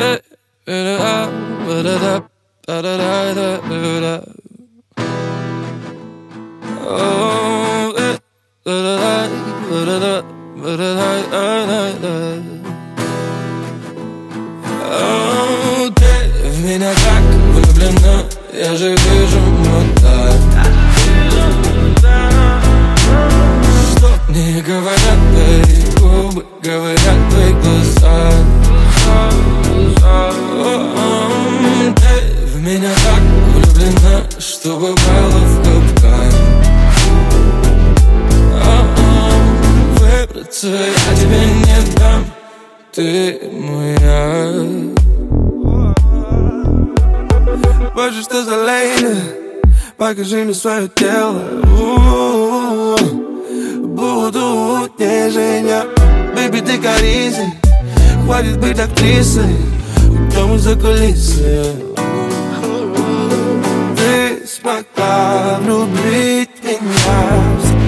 Ты в меня так влюблена, я же вижу, вот так. Что мне говорят твои губы, говорят твои глаза. Ты в меня так влюблена, что попала в капкан. Выбраться я тебе не дам, ты моя. Боже, что за лейна, покажи мне свое тело. Буду утешения. Бэйби, ты корисей, хватит быть актрисой, уйдем из-за кулисы. Ты смогла влюбить меня.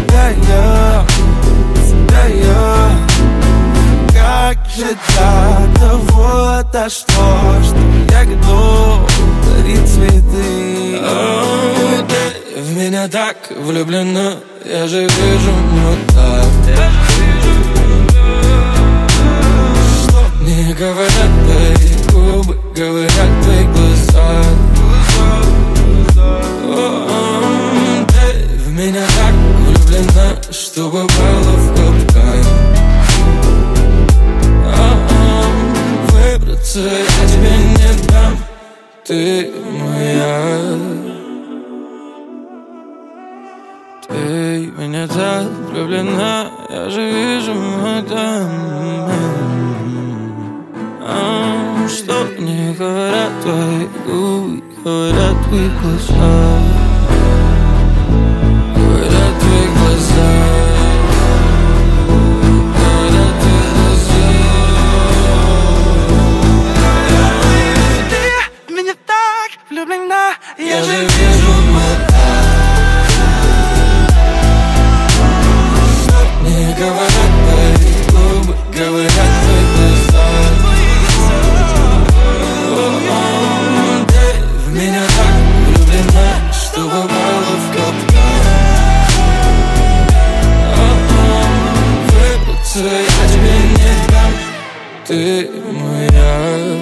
Всегда я. Как же до того дошло, что я готов дарить цветы. Ты в меня так влюблена, я же вижу вот так. Что мне говорят твои губы, говорят твои глаза. Ты в меня так влюблена, что попала в капкан. Выбраться я тебе не дам, ты моя. Ты в меня так влюблена, я же вижу, мадам. Что мне говорят твои губы, говорят твои глаза. Говорят твои глаза. Говорят твои глаза. Ты в меня так влюблена, Я же вижу, мадам. Мне говорят твои губы, говорят твои глаза. Ты в меня так влюблена, что попала в капкан. Выбраться я тебе не дам, ты моя.